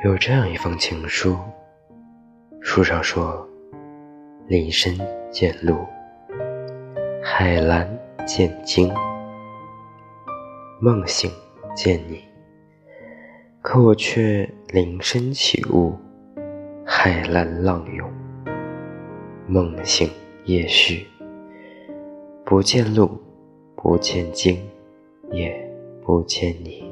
有这样一封情书，书上说：林深见鹿，海蓝见鲸，梦醒见你，可我却林深起雾，海蓝浪涌，梦醒夜续，不见鹿，不见鲸，也不见你。